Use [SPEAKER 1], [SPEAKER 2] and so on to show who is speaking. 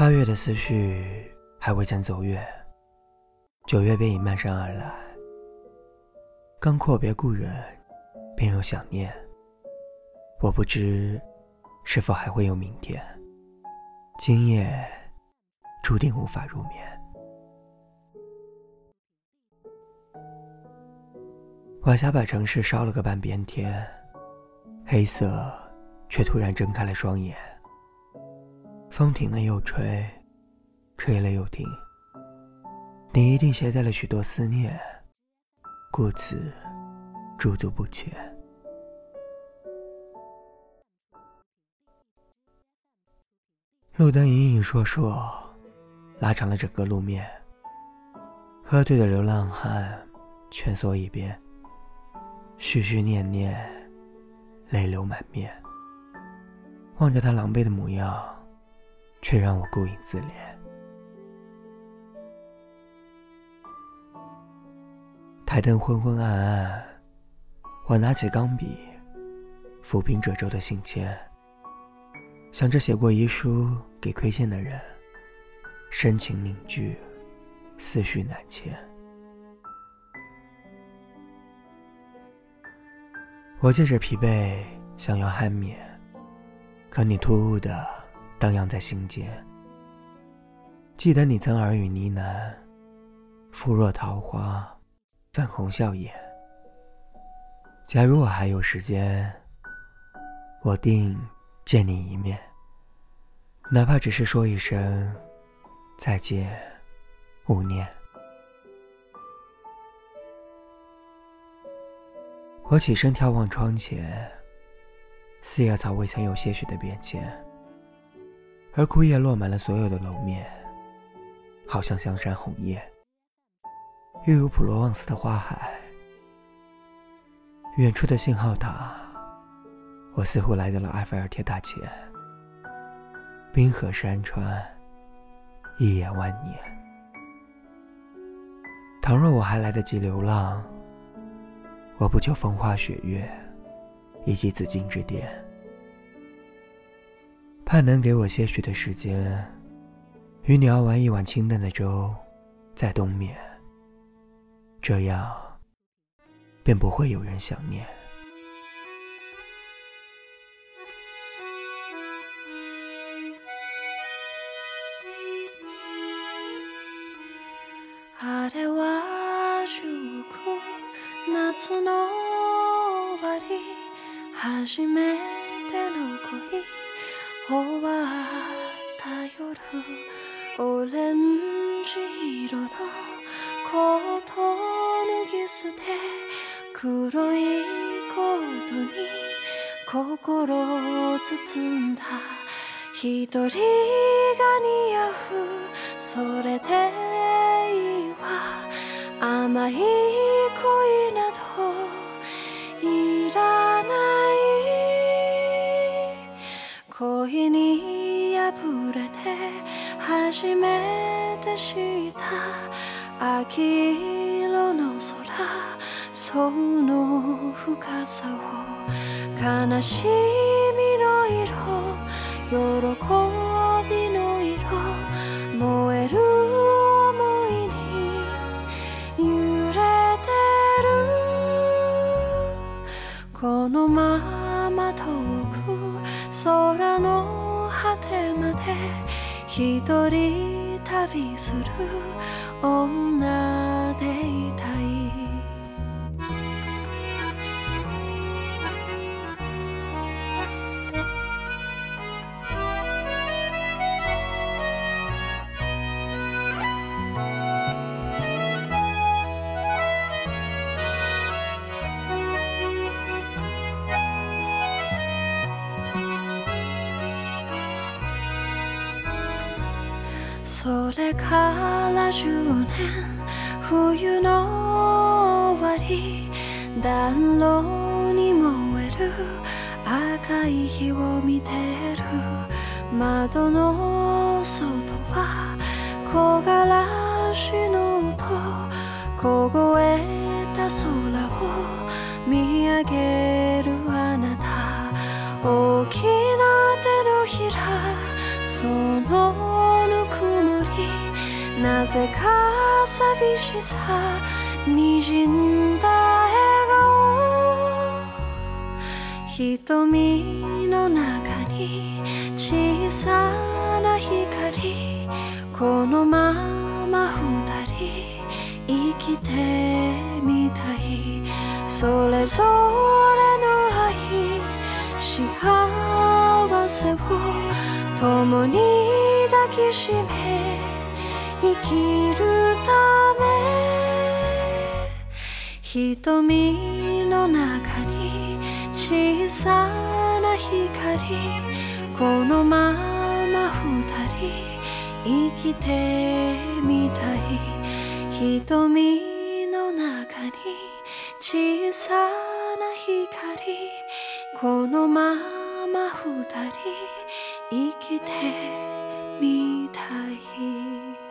[SPEAKER 1] 8月的思绪还未曾走远，9月便已漫山而来。刚阔别故人，便有想念。我不知是否还会有明天，今夜注定无法入眠。晚霞把城市烧了个半边天，黑色却突然睁开了双眼。风停了又吹，吹了又停。你一定携带了许多思念，故此驻足不前。路灯隐隐烁烁，拉长了整个路面。喝醉的流浪汉蜷缩一边，絮絮念念，泪流满面。望着他狼狈的模样，却让我顾影自怜。台灯昏昏暗暗，我拿起钢笔，抚平褶皱的信笺，想着写过遗书给亏欠的人，深情凝聚，思绪难牵。我借着疲惫想要酣眠，可你突兀地荡漾在心间。记得你曾耳语呢喃，肤若桃花，粉红笑颜。假如我还有时间，我定见你一面，哪怕只是说一声再见，勿念。我起身眺望窗前，四叶草未曾有些许的变迁，而枯叶落满了所有的楼面，好像香山红叶，又有普罗旺斯的花海。远处的信号塔，我似乎来到了埃菲尔铁塔前。冰河山川，一眼万年。倘若我还来得及流浪，我不求风花雪月以及紫禁之巅，盼能给我些许的时间，与你熬完一碗清淡的粥，再冬眠，这样便不会有人想念。
[SPEAKER 2] あれは10月夏の終わり、初めての恋終わった夜、オレンジ色のコート脱ぎ捨て、黒いコートに心を包んだ一人が似合う、それでいいわ、甘い恋などいらない、恋に破れて初めて知った秋色の空、その深さを、悲しみの色、喜びの色、燃える想いに揺れてる、このまま遠く空の果てまで一人旅する女でいたい。それから10年、冬の終わり、暖炉に燃える赤い火を見てる、窓の外は木枯らしの音、凍えた空を見上げるあなた、大きな手のひら、そのなぜか寂しさにじんだ笑顔、瞳の中に小さな光、このまま二人生きてみたい。それぞれの愛、幸せを共に抱きしめ生きるため、瞳の中に小さな光、このまま二人生きてみたい。瞳の中に小さな光、このまま二人生きてみたい。